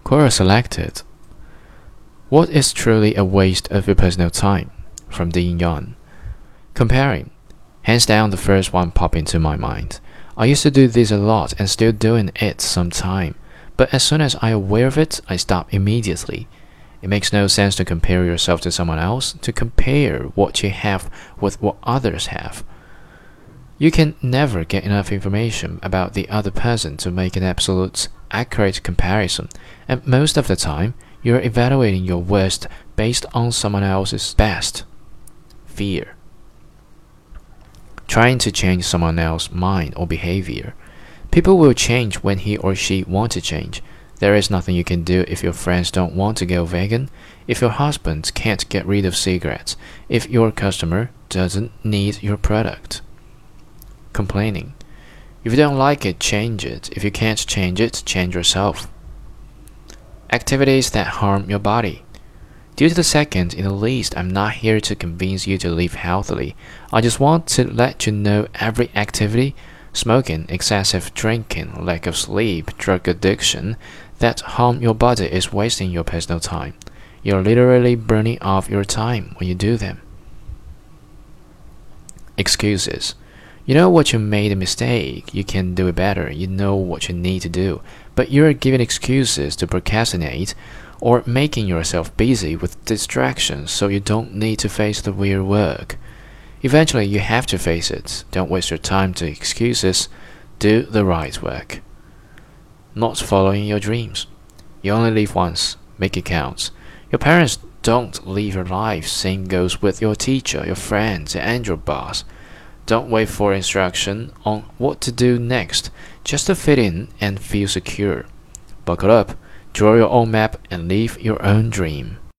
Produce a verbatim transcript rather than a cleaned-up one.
Quora selected. What is truly a waste of your personal time? From Dean Yan. Comparing. Hands down, the first one popped into my mind. I used to do this a lot and still doing it some time, but as soon as I'm aware of it, I stop immediately. It makes no sense to compare yourself to someone else, to compare what you have with what others have. You can never get enough information about the other person to make an absolute, accurate comparison, and most of the time, you're evaluating your worst based on someone else's best. Fear. Trying to change someone else's mind or behavior. People will change when he or she want to change. There is nothing you can do if your friends don't want to go vegan, if your husband can't get rid of cigarettes, if your customer doesn't need your product. Complaining. If you don't like it, change it. If you can't change it, change yourself. Activities that harm your body. Due to the second, in the least, I'm not here to convince you to live healthily. I just want to let you know every activity, smoking, excessive drinking, lack of sleep, drug addiction, that harm your body is wasting your personal time. You're literally burning off your time when you do them. Excuses. You know what you made a mistake, you can do it better, you know what you need to do, but you're giving excuses to procrastinate or making yourself busy with distractions so you don't need to face the real work. Eventually you have to face it. Don't waste your time to excuses, do the right work. Not following your dreams. You only live once, make it count. Your parents don't live your life, same goes with your teacher, your friends, and your boss. Don't wait for instruction on what to do next, just to fit in and feel secure. Buckle up, draw your own map, and live your own dream.